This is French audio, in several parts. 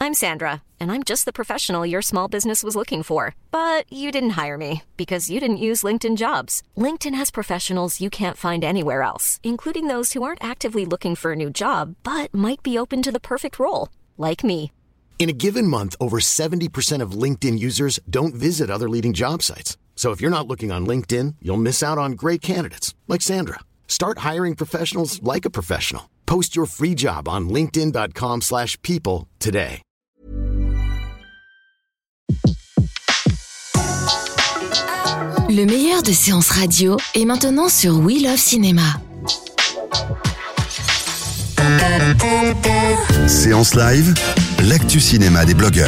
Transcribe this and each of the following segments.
I'm Sandra, and I'm just the professional your small business was looking for. But you didn't hire me because you didn't use LinkedIn Jobs. LinkedIn has professionals you can't find anywhere else, including those who aren't actively looking for a new job, but might be open to the perfect role, like me. In a given month, over 70% of LinkedIn users don't visit other leading job sites. So if you're not looking on LinkedIn, you'll miss out on great candidates like Sandra. Start hiring professionals like a professional. Post your free job on linkedin.com/people today. Le meilleur de séances radio est maintenant sur We Love Cinéma. Séance live, l'actu cinéma des blogueurs.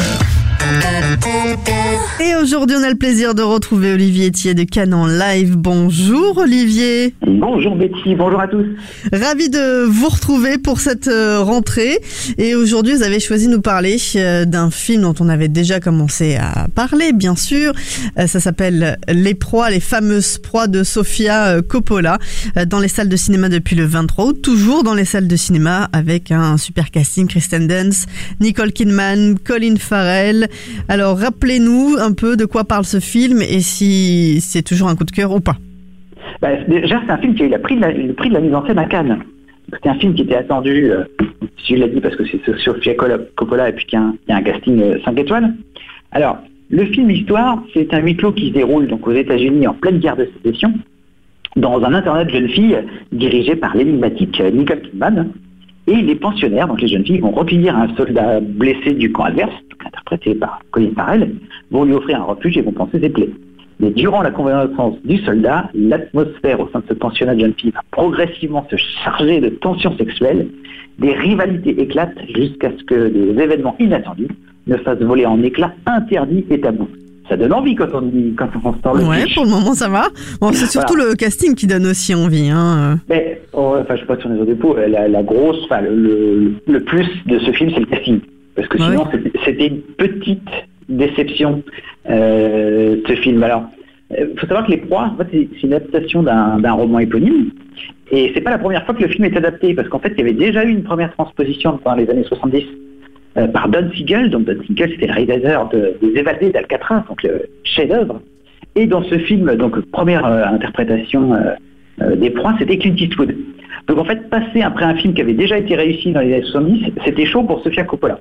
Et aujourd'hui, on a le plaisir de retrouver Olivier Thiers de Cannes en live. Bonjour Olivier. Bonjour Betty, bonjour à tous. Ravi de vous retrouver pour cette rentrée. Et aujourd'hui, vous avez choisi de nous parler d'un film dont on avait déjà commencé à parler, bien sûr. Ça s'appelle Les Proies, les fameuses proies de Sofia Coppola, dans les salles de cinéma depuis le 23 août. Toujours dans les salles de cinéma avec un super casting, Kristen Dunst, Nicole Kidman, Colin Farrell. Alors, rappelez-nous un peu de quoi parle ce film et si c'est toujours un coup de cœur ou pas. Déjà, c'est un film qui a eu le prix de la mise en scène à Cannes. C'était un film qui était attendu, je l'ai dit parce que c'est Sofia Coppola et puis qu'il y a un casting 5 étoiles. Alors, le film Histoire, c'est un huis clos qui se déroule donc aux États-Unis en pleine guerre de sécession, dans un internat de jeunes filles dirigé par l'énigmatique Nicole Kidman. Et les pensionnaires, donc les jeunes filles, vont recueillir un soldat blessé du camp adverse, interprété par Colin Farrell, vont lui offrir un refuge et vont panser ses plaies. Mais durant la convalescence du soldat, l'atmosphère au sein de ce pensionnat de jeunes filles va progressivement se charger de tensions sexuelles, des rivalités éclatent jusqu'à ce que des événements inattendus ne fassent voler en éclats interdits et tabous. Ça donne envie quand on se parle. Ouais, pour le moment ça va. Bon, c'est surtout le casting qui donne aussi envie. Mais, je sais pas si on est au dépôt. La grosse, le plus de ce film, c'est le casting. Parce que sinon, c'était une petite déception, ce film. Alors, faut savoir que Les Proies, en fait, c'est une adaptation d'un roman éponyme. Et c'est pas la première fois que le film est adapté. Parce qu'en fait, il y avait déjà eu une première transposition dans les années 70. Par Don Siegel. Donc Don Siegel, c'était le réalisateur des Évadés d'Alcatraz, donc le chef-d'œuvre. Et dans ce film, donc première interprétation des Proies, c'était Clint Eastwood. Donc en fait, passer après un film qui avait déjà été réussi dans les années 70, c'était chaud pour Sofia Coppola.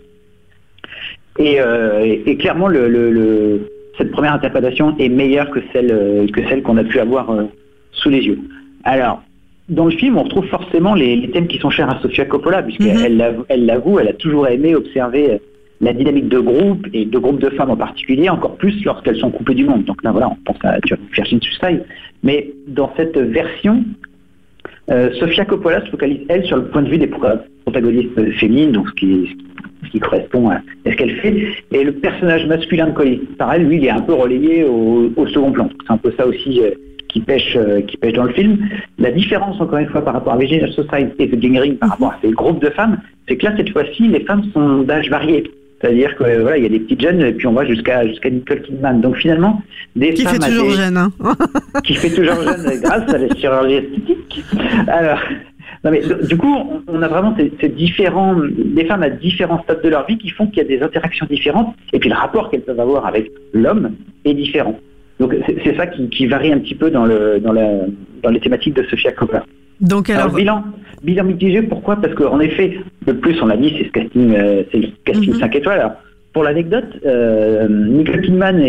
Et clairement, cette première interprétation est meilleure que celle qu'on a pu avoir sous les yeux. Alors, dans le film, on retrouve forcément les thèmes qui sont chers à Sofia Coppola, puisqu'elle l'avoue, elle a toujours aimé observer la dynamique de groupe, et de groupes de femmes en particulier, encore plus lorsqu'elles sont coupées du monde. Donc là, voilà, on pense à Virgin Suicide. Mais dans cette version, Sofia Coppola se focalise, elle, sur le point de vue des protagonistes féminines, donc ce qui correspond à ce qu'elle fait. Et le personnage masculin de Colin Farrell, lui, il est un peu relayé au second plan. C'est un peu ça aussi qui pêche dans le film. La différence, encore une fois, par rapport à Virgin Suicide et The Gang Ring, par rapport à ces groupes de femmes, c'est que là, cette fois-ci, les femmes sont d'âge varié. C'est-à-dire que il y a des petites jeunes, et puis on va jusqu'à Nicole Kidman. Donc finalement, qui fait toujours jeune, qui fait toujours jeune grâce à la chirurgie esthétique. Alors, non mais du coup, on a vraiment ces des femmes à différents stades de leur vie qui font qu'il y a des interactions différentes, et puis le rapport qu'elles peuvent avoir avec l'homme est différent. Donc c'est ça qui varie un petit peu dans les thématiques de Sofia Coppola. Donc alors bilan mitigé, pourquoi ? Parce qu'en effet, le plus on l'a dit, c'est le casting 5 étoiles. Alors, pour l'anecdote, Nicole Kidman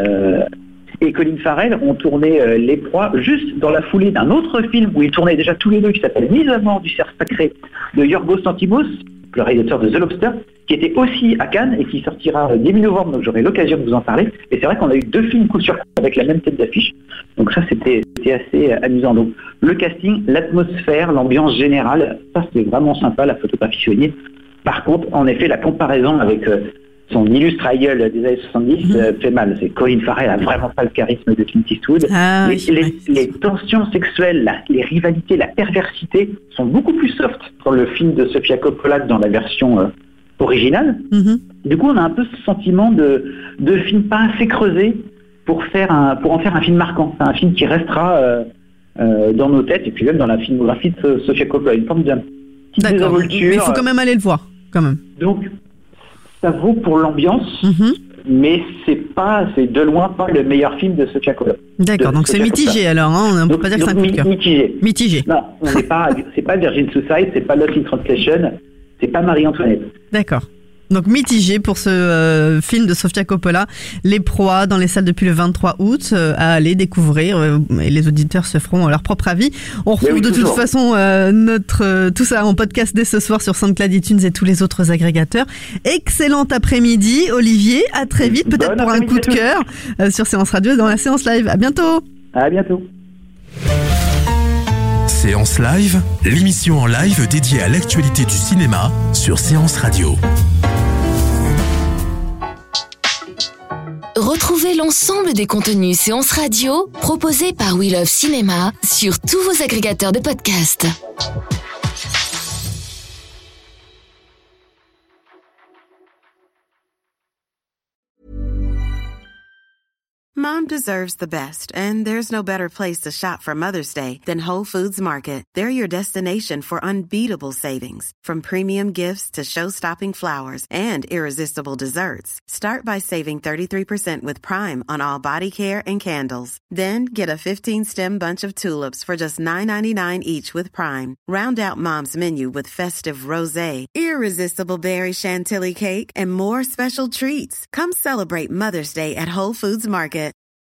et Colin Farrell ont tourné Les Proies juste dans la foulée d'un autre film où ils tournaient déjà tous les deux, qui s'appelle Mise à mort du cerf sacré de Yorgos Lanthimos, le réalisateur de The Lobster, qui était aussi à Cannes et qui sortira début novembre, donc j'aurai l'occasion de vous en parler. Et c'est vrai qu'on a eu 2 films coup sur coup avec la même tête d'affiche, donc ça c'était assez amusant. Donc le casting, l'atmosphère, l'ambiance générale, ça c'est vraiment sympa, la photographie soignée. Par contre, en effet, la comparaison avec son illustre aïeul des années 70 fait mal. C'est Colin Farrell a vraiment pas le charisme de Clint Eastwood. Les tensions sexuelles, les rivalités, la perversité sont beaucoup plus soft dans le film de Sofia Coppola que dans la version originale. Du coup, on a un peu ce sentiment de film pas assez creusé pour en faire un film marquant. C'est un film qui restera dans nos têtes et puis même dans la filmographie de Sofia Coppola. Une forme de petite désinvolture. Mais il faut quand même aller le voir, quand même. Donc, ça vaut pour l'ambiance, mais c'est de loin pas le meilleur film de Sofia Coppola. D'accord, donc c'est mitigé alors, hein, on peut pas dire que c'est un coup de cœur. Mitigé. Non, c'est pas Virgin Suicide, c'est pas Lost in Translation, c'est pas Marie-Antoinette. D'accord. Donc mitigé pour ce film de Sofia Coppola, Les Proies, dans les salles depuis le 23 août, à aller découvrir, et les auditeurs se feront leur propre avis. On retrouve toute façon tout ça en podcast dès ce soir sur SoundCloud, iTunes et tous les autres agrégateurs. Excellent après-midi, Olivier, à très vite, peut-être pour un coup de cœur sur Séance Radio dans la séance live. À bientôt. À bientôt. Séance Live, l'émission en live dédiée à l'actualité du cinéma sur Séance Radio. Retrouvez l'ensemble des contenus Séance Radio proposés par We Love Cinéma sur tous vos agrégateurs de podcasts. Mom deserves the best, and there's no better place to shop for Mother's Day than Whole Foods Market. They're your destination for unbeatable savings, from premium gifts to show-stopping flowers and irresistible desserts. Start by saving 33% with Prime on all body care and candles. Then get a 15-stem bunch of tulips for just $9.99 each with Prime. Round out Mom's menu with festive rosé, irresistible berry chantilly cake, and more special treats. Come celebrate Mother's Day at Whole Foods Market.